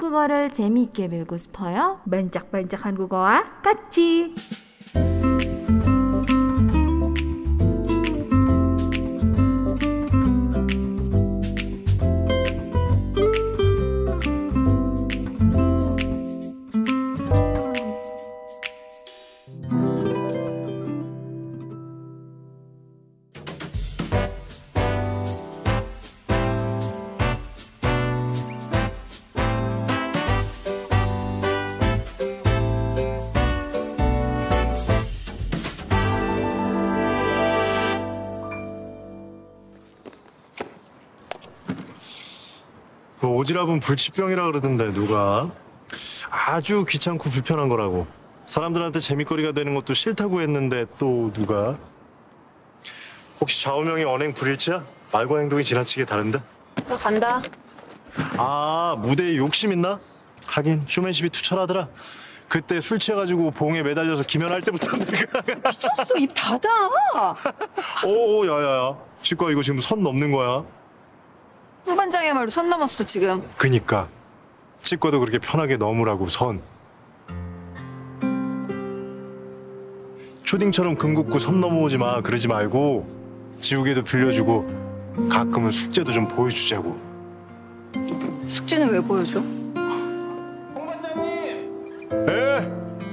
한국어를 재미있게 배우고 싶어요? 반짝반짝 한국어와 같이. 그 오지랖은 불치병이라 그러던데 누가? 아주 귀찮고 불편한 거라고. 사람들한테 재밌거리가 되는 것도 싫다고 했는데 또 누가? 혹시 좌우명이 언행 불일치야? 말과 행동이 지나치게 다른데? 나 간다. 아, 무대에 욕심 있나? 하긴 쇼맨십이 투철하더라. 그때 술 취해가지고 봉에 매달려서 기면할 때부터 내가 미쳤어. 입 닫아. 오 야야야 치과 이거 지금 선 넘는 거야. 홍 반장이야말로 선 넘었어 지금. 그니까 치과도 그렇게 편하게 넘으라고 선. 초딩처럼 금 긋고 선 넘어오지 마 그러지 말고 지우개도 빌려주고 가끔은 숙제도 좀 보여주자고. 숙제는 왜 보여줘? 홍 반장님! 에?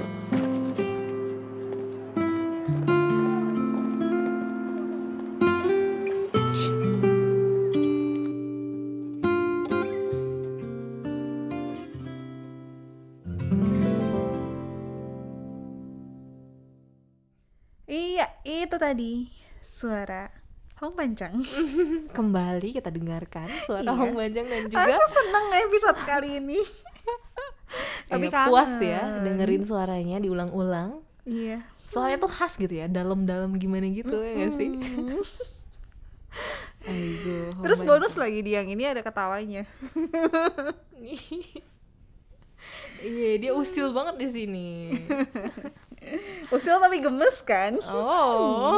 Iya, itu tadi suara Hong Banjang. Kembali kita dengarkan suara Iya. Hong Banjang dan juga Aku seneng episode kali ini. Tapi kangen. puas ya dengerin suaranya diulang-ulang. Iya. Suaranya tuh khas gitu ya, dalam-dalam gimana gitu ya nggak sih? Aduh, Hong Terus Banjang. bonus lagi di yang ini ada ketawanya. Iya, dia usil banget di sini. Usil tapi gemes kan? Oh.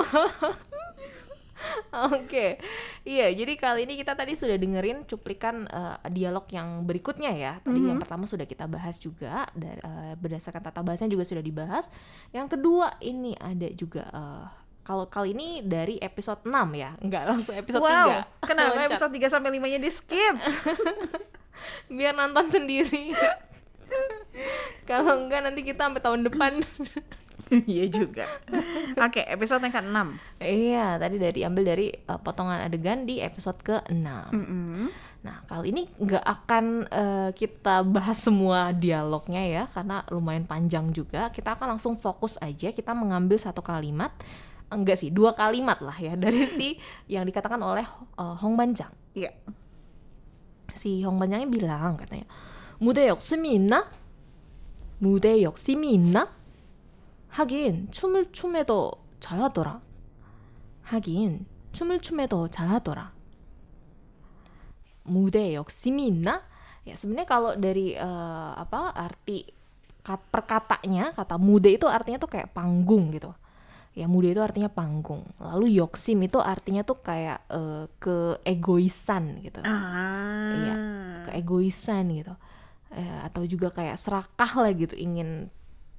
Oke. Iya, jadi kali ini kita tadi sudah dengerin cuplikan dialog yang berikutnya ya. Tadi yang pertama sudah kita bahas juga berdasarkan tata bahasanya juga sudah dibahas. Yang kedua ini ada juga kalau kali ini dari episode 6 ya. Enggak langsung episode 3. Wow, kenapa Loncat. episode 3 sampai 5-nya di skip? Biar nonton sendiri. Kalau enggak nanti kita sampai tahun depan. Iya juga. Oke, episode yang ke-6. Iya, tadi diambil dari potongan adegan di episode ke-6. Nah, kali ini nggak akan kita bahas semua dialognya ya, karena lumayan panjang juga. Kita akan langsung fokus aja, kita mengambil satu kalimat, enggak sih, 2 kalimat lah ya, dari si yang dikatakan oleh Hong Banjang. Iya. Si Hong Banjangnya bilang katanya, 무대 욕심이 있나? 무대 욕심이 있나? 하긴 춤을 춤에도 잘하더라. 하긴 춤을 춤에도 잘하더라. 무대 욕심이 있나? Ya sebenarnya kalau dari arti perkatanya kata mude itu artinya tuh kayak panggung gitu. Ya mude itu artinya panggung. Lalu yoksim itu artinya tuh kayak keegoisan gitu. Iya, keegoisan gitu. Atau juga kayak serakah lah gitu, ingin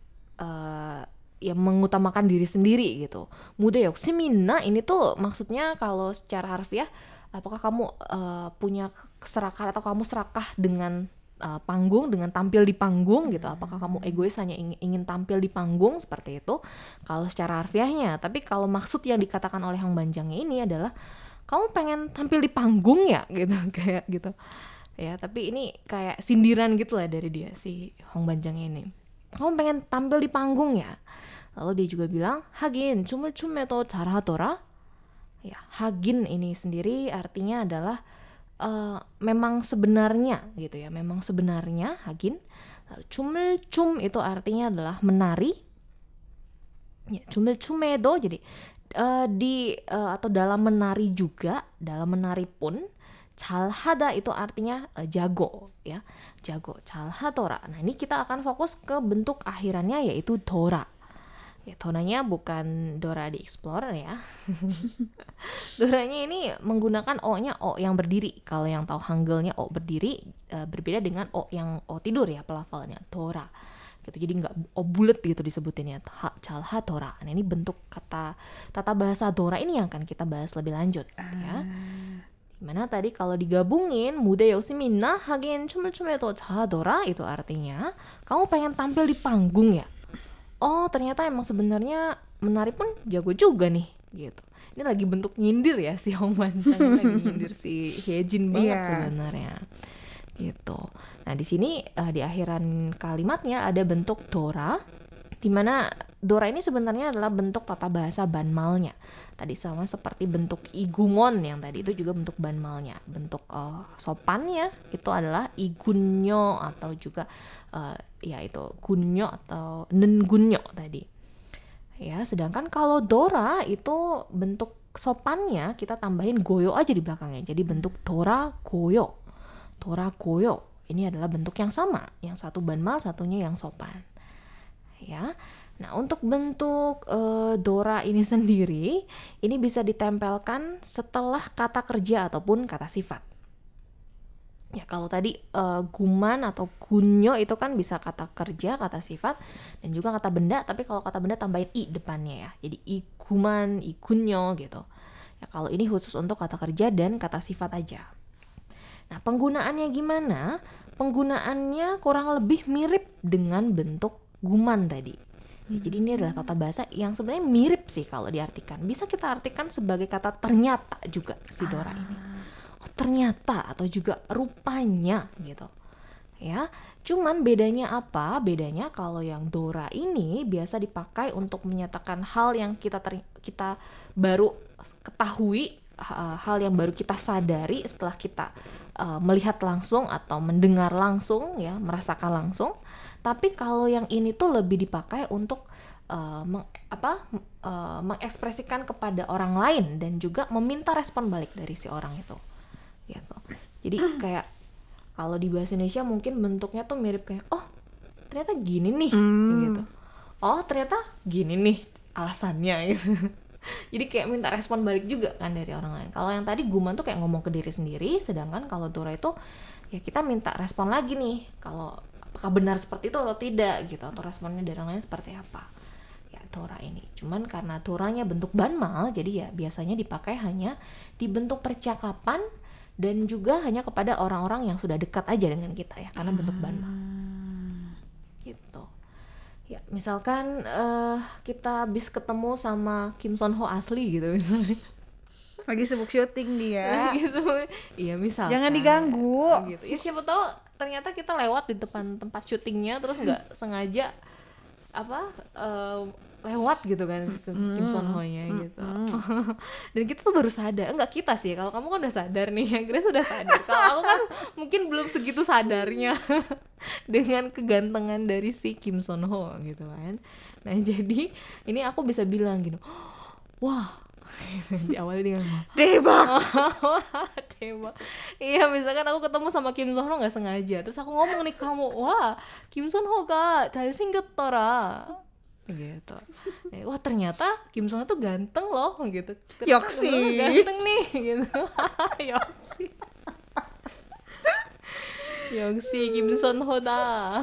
ya mengutamakan diri sendiri gitu. Muda 욕심이나 ini tuh maksudnya kalau secara harfiah, apakah kamu punya keserakahan atau kamu serakah dengan panggung, dengan tampil di panggung gitu. Apakah kamu egois hanya ingin tampil di panggung seperti itu kalau secara harfiahnya. Tapi kalau maksud yang dikatakan oleh Hong Banjangnya ini adalah kamu pengen tampil di panggung ya gitu, kayak gitu. Ya, tapi ini kayak sindiran gitu lah dari dia si Hong Banjangnya ini. Kamu pengen tampil di panggung ya? Lalu dia juga bilang, 하긴 춤을 춤에도 잘하더라. Ya, hagin ini sendiri artinya adalah memang sebenarnya gitu ya, memang sebenarnya hagin. Lalu 춤을 itu artinya adalah menari. Ya, 춤을 춤에도 jadi atau dalam menari juga, dalam menari pun 잘하다 itu artinya jago ya, jago. 잘하더라. Nah, ini kita akan fokus ke bentuk akhirannya yaitu dora. Ya, Doranya bukan Dora the Explorer ya. Doranya ini menggunakan O-nya O yang berdiri. Kalau yang tahu Hangulnya O berdiri, berbeda dengan O yang O tidur ya pelafalannya, Dora. Gitu. Jadi nggak O bulat gitu disebutinnya, Calha Dora. Nah, ini bentuk kata tata bahasa Dora ini yang akan kita bahas lebih lanjut gitu ya. Dimana tadi kalau digabungin muda yosimina hagen 춤을 자더라 itu artinya kamu pengen tampil di panggung ya. Oh ternyata emang sebenarnya menari pun jago juga nih gitu. Ini lagi bentuk nyindir ya si Hong Manchang lagi nyindir si Hyejin banget sebenarnya gitu. Nah di sini di akhiran kalimatnya ada bentuk Dora, dimana Dora ini sebenarnya adalah bentuk tata bahasa banmalnya. Tadi sama seperti bentuk igungon yang tadi itu juga bentuk banmalnya. Bentuk sopannya itu adalah igunyo atau juga ya itu gunyo atau nengunyo tadi. Ya, sedangkan kalau Dora itu bentuk sopannya kita tambahin goyo aja di belakangnya. Jadi bentuk Dora goyo. Dora goyo. Ini adalah bentuk yang sama, yang satu banmal, satunya yang sopan. Ya. Nah, untuk bentuk Dora ini sendiri, ini bisa ditempelkan setelah kata kerja ataupun kata sifat. Ya, kalau tadi guman atau gunyo itu kan bisa kata kerja, kata sifat, dan juga kata benda, tapi kalau kata benda tambahin i depannya ya. Jadi iguman, igunyo gitu. Ya, kalau ini khusus untuk kata kerja dan kata sifat aja. Nah, penggunaannya gimana? Penggunaannya kurang lebih mirip dengan bentuk guman tadi. Ya, jadi ini adalah tata bahasa yang sebenarnya mirip sih kalau diartikan. Bisa kita artikan sebagai kata ternyata juga si Dora ini. Oh, ternyata atau juga rupanya gitu. Ya, cuman bedanya apa? Bedanya kalau yang Dora ini biasa dipakai untuk menyatakan hal yang kita baru ketahui, hal yang baru kita sadari setelah kita melihat langsung atau mendengar langsung ya, merasakan langsung. Tapi kalau yang ini tuh lebih dipakai untuk mengekspresikan kepada orang lain dan juga meminta respon balik dari si orang itu. Gitu. Jadi kayak kalau di bahasa Indonesia mungkin bentuknya tuh mirip kayak oh ternyata gini nih gitu. Oh ternyata gini nih alasannya gitu. Jadi kayak minta respon balik juga kan dari orang lain. Kalau yang tadi guman tuh kayak ngomong ke diri sendiri, sedangkan kalau Dora itu ya kita minta respon lagi nih. Kalau apakah benar seperti itu atau tidak gitu, atau responnya dari orang lain seperti apa ya Dora ini. Cuman karena Doranya bentuk banmal, jadi ya biasanya dipakai hanya di bentuk percakapan dan juga hanya kepada orang-orang yang sudah dekat aja dengan kita ya, karena bentuk banmal gitu ya. Misalkan kita habis ketemu sama Kim Son Ho asli gitu misalnya, Lagi sibuk syuting dia. gitu. Iya misalkan Jangan diganggu. gitu. Ya siapa tahu ternyata kita lewat di depan tempat syutingnya terus nggak sengaja lewat gitu kan ke Kim Son Ho-nya gitu. Dan kita tuh baru sadar, enggak kita sih, kalau kamu kan udah sadar nih, ya Grace udah sadar. Kalau aku kan mungkin belum segitu sadarnya dengan kegantengan dari si Kim Son Ho gitu kan. Nah jadi ini aku bisa bilang gitu, wah diawali dengan Debak. tembak. Iya misalkan aku ketemu sama Kim Son Ho nggak sengaja, terus aku ngomong nih ke kamu, wah Kim Son Ho ga 잘생겼더라 gitu. Wah ternyata Kim Son Ho tuh ganteng loh gitu. Yoksi. Ganteng nih gitu. Yoksi. Yoksi Kim Son Ho dah.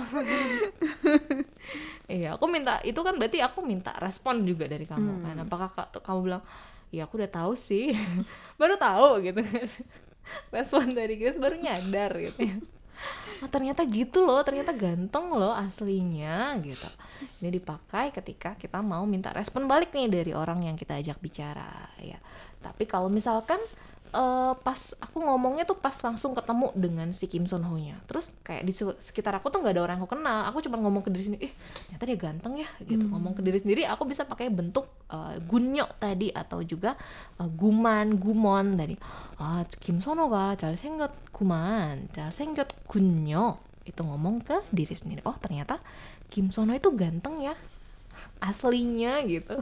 Iya, aku minta itu kan berarti aku minta respon juga dari kamu kan. Apakah kamu bilang, ya aku udah tahu sih, baru tahu gitu. Respon dari Grace baru nyadar gitu ya. Oh, ternyata gitu loh, ternyata ganteng loh aslinya gitu. Ini dipakai ketika kita mau minta respon balik nih dari orang yang kita ajak bicara ya. Tapi kalau misalkan pas aku ngomongnya tuh pas langsung ketemu dengan si Kim Son Ho-nya, terus kayak di sekitar aku tuh nggak ada orang yang aku kenal, aku cuma ngomong ke diri sendiri, ternyata dia ganteng ya gitu. Ngomong ke diri sendiri aku bisa pakai bentuk gunyo tadi atau juga gumon tadi. Kim Son Ho-ga 잘생겼구만, 잘생겼군요. Itu ngomong ke diri sendiri. Oh ternyata Kim Son Ho itu ganteng ya aslinya gitu.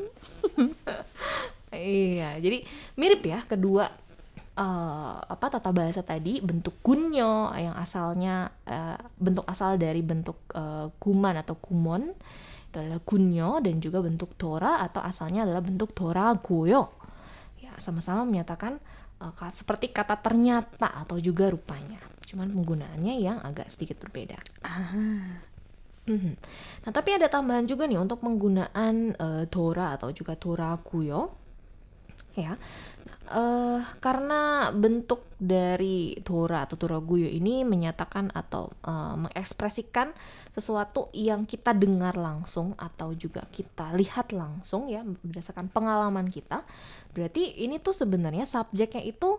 Iya, jadi mirip ya kedua tata bahasa tadi, bentuk gunyo yang asalnya bentuk asal dari bentuk guman atau gumon itu adalah gunyo dan juga bentuk dora atau asalnya adalah bentuk doragoyo. Ya, sama-sama menyatakan seperti kata ternyata atau juga rupanya. Cuman penggunaannya yang agak sedikit berbeda. Nah, tapi ada tambahan juga nih untuk penggunaan dora atau juga doragoyo. Ya, karena bentuk dari dora atau doragoyo ini menyatakan atau mengekspresikan sesuatu yang kita dengar langsung atau juga kita lihat langsung ya berdasarkan pengalaman kita. Berarti ini tuh sebenarnya subjeknya itu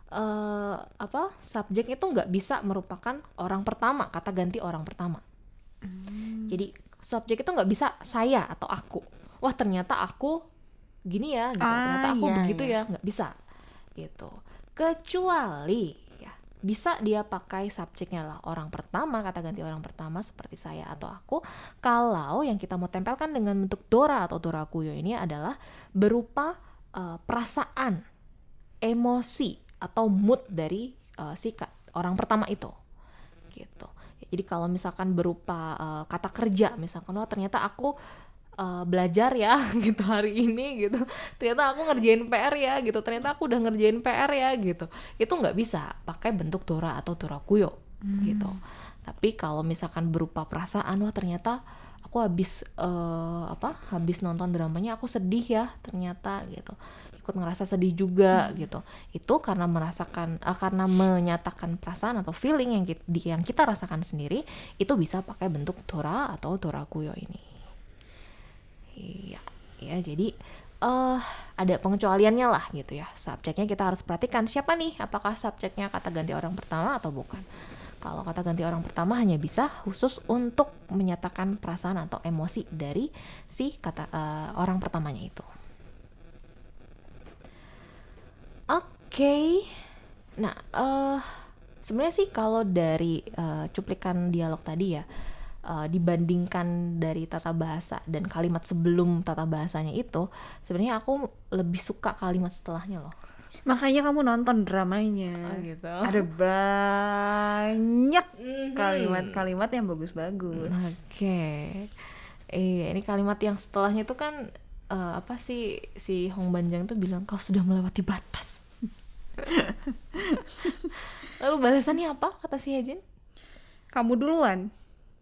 subjek itu nggak bisa merupakan orang pertama, kata ganti orang pertama. Jadi subjek itu nggak bisa saya atau aku. Wah, ternyata aku gini ya gitu. Ternyata aku begitu ya, nggak bisa gitu. Kecuali ya bisa dia pakai subjeknya lah orang pertama, kata ganti orang pertama seperti saya atau aku, kalau yang kita mau tempelkan dengan bentuk dora atau doragoyo ini adalah berupa perasaan, emosi atau mood dari si orang pertama itu gitu. Jadi kalau misalkan berupa kata kerja, misalkan ternyata aku belajar ya gitu hari ini gitu, ternyata aku ngerjain PR ya gitu, ternyata aku udah ngerjain PR ya gitu, itu nggak bisa pakai bentuk dora atau doragoyo gitu. Tapi kalau misalkan berupa perasaan, wah ternyata aku habis nonton dramanya aku sedih ya ternyata gitu, ikut ngerasa sedih juga gitu, itu karena karena menyatakan perasaan atau feeling yang kita rasakan sendiri, itu bisa pakai bentuk dora atau doragoyo ini. Iya, ya jadi ada pengecualiannya lah gitu ya. Subjeknya kita harus perhatikan siapa nih, apakah subjeknya kata ganti orang pertama atau bukan. Kalau kata ganti orang pertama hanya bisa khusus untuk menyatakan perasaan atau emosi dari si kata orang pertamanya itu. Oke. Nah, sebenarnya sih kalau dari cuplikan dialog tadi ya, dibandingkan dari tata bahasa dan kalimat sebelum tata bahasanya itu, sebenarnya aku lebih suka kalimat setelahnya loh. Makanya kamu nonton dramanya. Gitu. Ada banyak kalimat-kalimat yang bagus-bagus. Oke. Ini kalimat yang setelahnya itu kan si Hong Banjang tuh bilang kau sudah melewati batas. Lalu balasannya apa kata si Hejin? Kamu duluan.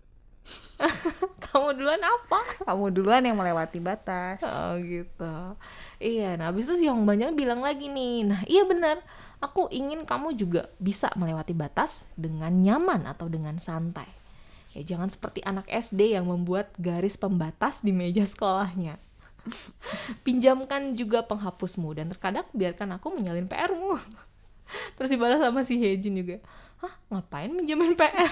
Kamu duluan apa? Kamu duluan yang melewati batas. Oh gitu. Iya, nah habis itu si Hong Banjang bilang lagi nih, nah iya benar, aku ingin kamu juga bisa melewati batas dengan nyaman atau dengan santai. Ya jangan seperti anak SD yang membuat garis pembatas di meja sekolahnya. Pinjamkan juga penghapusmu dan terkadang biarkan aku menyalin PR-mu. Terus dibalas sama si Hejin juga, hah ngapain minjemin PR?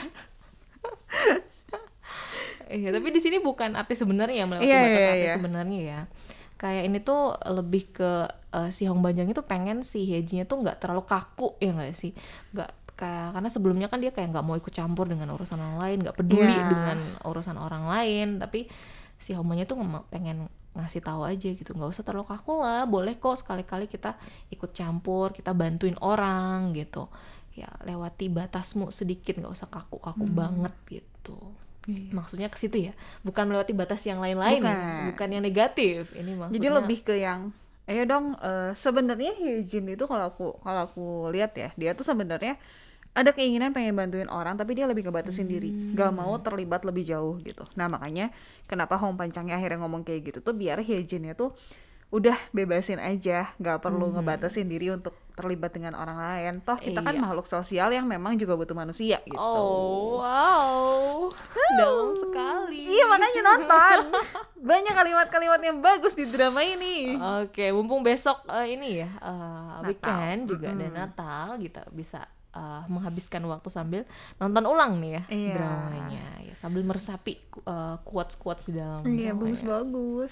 Iya, tapi di sini bukan arti sebenarnya melewati batas arti sebenarnya ya. Kayak ini tuh lebih ke si Hong Banjang itu pengen si Hejinnya tuh nggak terlalu kaku ya nggak sih, nggak kayak, karena sebelumnya kan dia kayak nggak mau ikut campur dengan urusan orang lain, nggak peduli dengan urusan orang lain, tapi si Hong Banjang tuh pengen ngasih tahu aja gitu, nggak usah terlalu kaku lah, boleh kok sekali-kali kita ikut campur, kita bantuin orang gitu ya, lewati batasmu sedikit, nggak usah kaku-kaku banget gitu. Maksudnya ke situ ya, bukan melewati batas yang lain-lain, bukan yang negatif. Ini maksudnya. Jadi lebih ke yang, ayo dong. Sebenarnya Hejin itu kalau aku lihat ya, dia tuh sebenarnya ada keinginan pengen bantuin orang, tapi dia lebih ngebatasin diri, gak mau terlibat lebih jauh gitu. Nah makanya kenapa Hong Pancangnya akhirnya ngomong kayak gitu tuh, biar Hejinnya tuh udah bebasin aja, gak perlu ngebatasin diri untuk terlibat dengan orang lain. Toh kita kan makhluk sosial yang memang juga butuh manusia gitu. Oh wow, dalam sekali. Iya makanya nonton. Banyak kalimat-kalimat yang bagus di drama ini. Oke, mumpung besok ini ya weekend juga dan Natal, kita bisa menghabiskan waktu sambil nonton ulang nih ya dramanya ya, sambil meresapi quotes-quotes di dalam Iya, dramanya. bagus-bagus.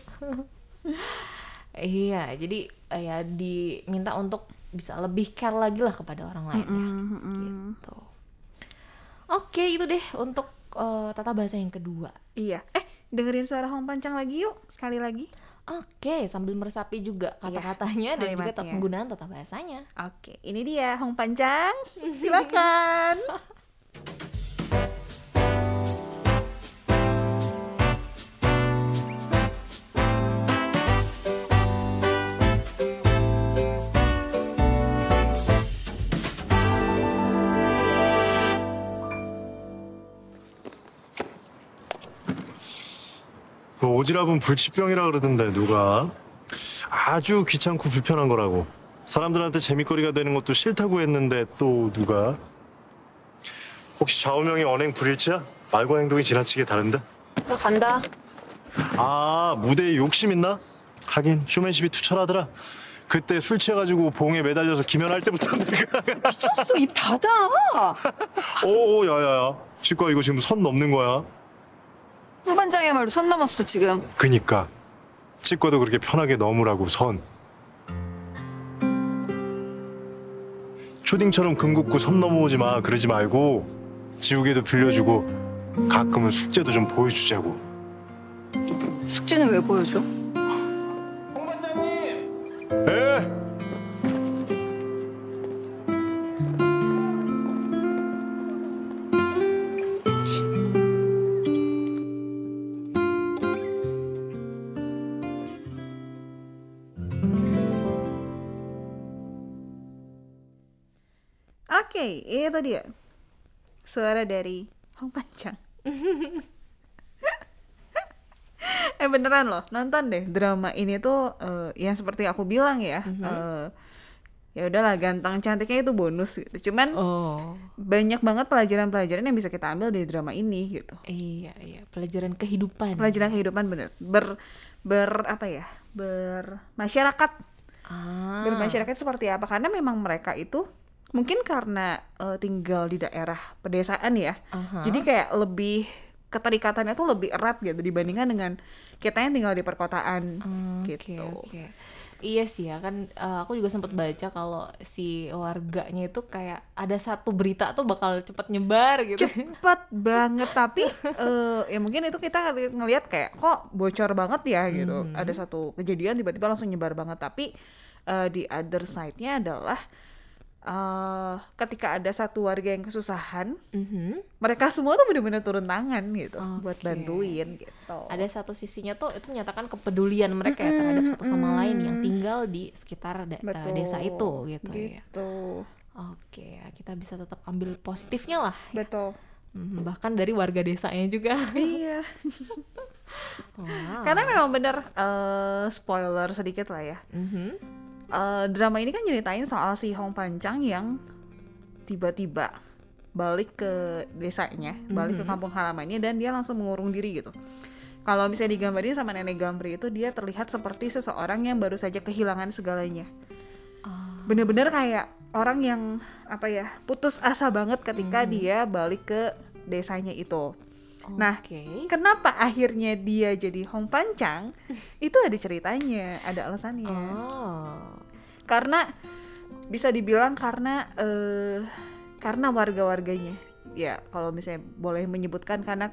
Iya, jadi ya diminta untuk bisa lebih care lagi lah kepada orang lain ya. Gitu. Oke, itu deh untuk tata bahasa yang kedua. Iya. Dengerin suara Hong Pancang lagi yuk, sekali lagi. Oke, sambil meresapi juga kata-katanya dan juga kalimatnya. penggunaan tata bahasanya. Oke, ini dia Hong Pancang. Silakan. 그 오지랖은 불치병이라 그러던데 누가. 아주 귀찮고 불편한 거라고. 사람들한테 재밌거리가 되는 것도 싫다고 했는데 또 누가. 혹시 좌우명이 언행 불일치야? 말과 행동이 지나치게 다른데? 나 간다. 아, 무대에 욕심 있나? 하긴 쇼맨십이 투철하더라. 그때 술 취해가지고 봉에 매달려서 기면할 때부터 내가 미쳤어. 입 닫아. 오, 야야야, 치과 이거 지금 선 넘는 거야. 홍 반장이야말로 선 넘었어 지금. 그니까 치과도 그렇게 편하게 넘으라고 선. 초딩처럼 금 긋고 선 넘어오지 마. 그러지 말고 지우개도 빌려주고 가끔은 숙제도 좀 보여주자고. 숙제는 왜 보여줘? 에? Oke, itu dia suara dari Hong Pancang. Beneran loh, nonton deh drama ini tuh yang seperti aku bilang ya. Ya udahlah, ganteng cantiknya itu bonus gitu. Cuman banyak banget pelajaran-pelajaran yang bisa kita ambil dari drama ini gitu. Iya, pelajaran kehidupan. Pelajaran kehidupan bener. Bermasyarakat. Bermasyarakat seperti apa? Karena memang mereka itu mungkin karena tinggal di daerah pedesaan ya. Jadi kayak lebih keterikatannya tuh lebih erat gitu dibandingkan dengan kita yang tinggal di perkotaan gitu. Oke. Iya sih ya kan, aku juga sempat baca kalau si warganya itu kayak ada satu berita tuh bakal cepet nyebar gitu. Cepet banget, tapi ya mungkin itu kita ngelihat kayak kok bocor banget ya gitu. Ada satu kejadian tiba-tiba langsung nyebar banget, tapi di other side-nya adalah ketika ada satu warga yang kesusahan, mereka semua tuh benar-benar turun tangan gitu buat bantuin gitu. Ada satu sisinya tuh itu menyatakan kepedulian mereka ya terhadap satu sama lain yang tinggal di sekitar desa itu gitu ya. Oke, kita bisa tetap ambil positifnya lah. Betul. Bahkan dari warga desanya juga. Iya. Wow. Karena memang bener spoiler sedikit lah ya. Drama ini kan nyeritain soal si Hong Pancang yang tiba-tiba balik ke desanya, balik ke kampung halamannya, dan dia langsung mengurung diri gitu. Kalau misalnya digambarin sama nenek Gampri itu, dia terlihat seperti seseorang yang baru saja kehilangan segalanya. Bener-bener kayak orang yang putus asa banget ketika dia balik ke desanya itu. Nah, kenapa akhirnya dia jadi Hong Pancang? Itu ada ceritanya, ada alasannya. Karena bisa dibilang karena warga-warganya. Ya, kalau misalnya boleh menyebutkan karena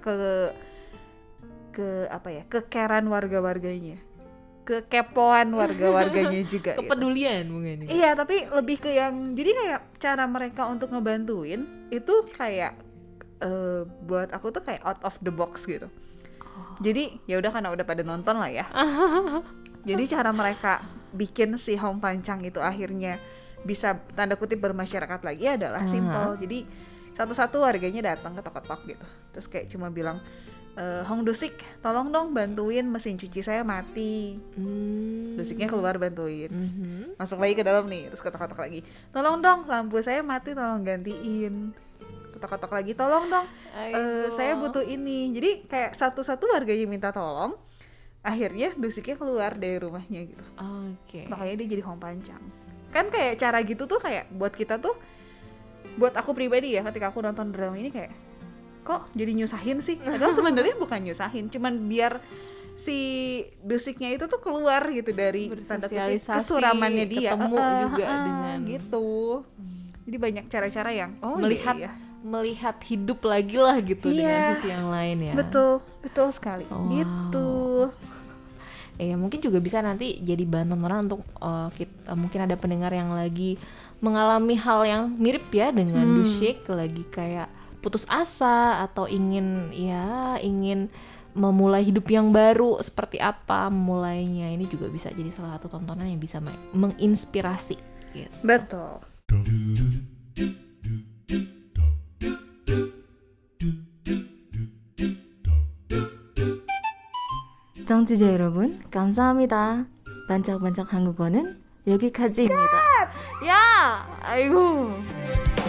kekeran warga-warganya. Kekepoan warga-warganya juga. Kepedulian mungkin. Iya, tapi lebih ke yang jadi kayak cara mereka untuk ngebantuin itu kayak buat aku tuh kayak out of the box gitu. Jadi ya udah karena udah pada nonton lah ya. Jadi cara mereka bikin si Hong Pancang itu akhirnya bisa tanda kutip bermasyarakat lagi adalah simple. Jadi satu-satu warganya datang ketok-ketok gitu. Terus kayak cuma bilang, Hong Dusik, tolong dong bantuin mesin cuci saya mati. Dusiknya keluar bantuin. Masuk lagi ke dalam nih, terus ketok-ketok lagi. Tolong dong lampu saya mati, tolong gantiin. Ketok-ketok lagi, tolong dong, saya butuh ini. Jadi kayak satu-satu warganya minta tolong, akhirnya Dusiknya keluar dari rumahnya gitu. Makanya dia jadi Hong Pancang. Kan kayak cara gitu tuh kayak buat kita tuh, buat aku pribadi ya, ketika aku nonton drama ini kayak kok jadi nyusahin sih? Padahal sebenarnya bukan nyusahin, cuman biar si Dusiknya itu tuh keluar gitu dari tanda kutip kesuramannya dia, ketemu juga dengan gitu. Jadi banyak cara-cara yang melihat hidup lagi lah gitu dengan sisi yang lain ya. Betul sekali. Gitu. Ya mungkin juga bisa nanti jadi bahan tontonan untuk kita, mungkin ada pendengar yang lagi mengalami hal yang mirip ya dengan Dusik, lagi kayak putus asa atau ingin memulai hidup yang baru, seperti apa memulainya. Ini juga bisa jadi salah satu tontonan yang bisa menginspirasi gitu. Betul. 청취자 여러분, 감사합니다. 반짝반짝 한국어는 여기까지입니다. 야! 아이고.